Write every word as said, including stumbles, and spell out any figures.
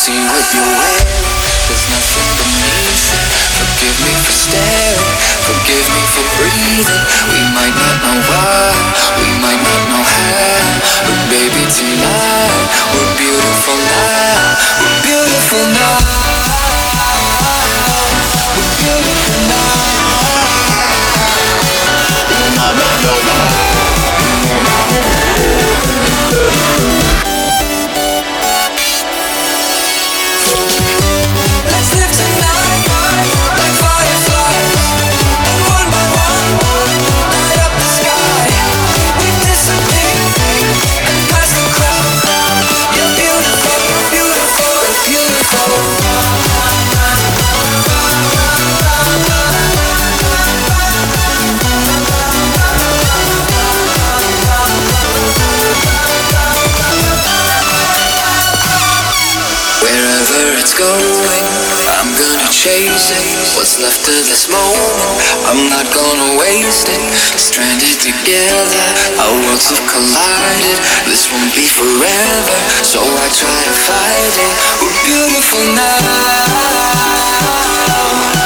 see what you're wearing. There's nothing beneath it. Forgive me for staring, forgive me for breathing. We might not know why, we might not know how, but baby tonight we're beautiful now. We're beautiful now. We're beautiful now. Na na na na. Let's live tonight like fireflies, and one by one light up the sky. We disappear and pass the crowd. You're beautiful, you're beautiful, you're beautiful. Wherever it's going, I'm gonna chase it. What's left of this moment, I'm not gonna waste it. Stranded together, our worlds have collided. This won't be forever, so I try to fight it. We're beautiful now.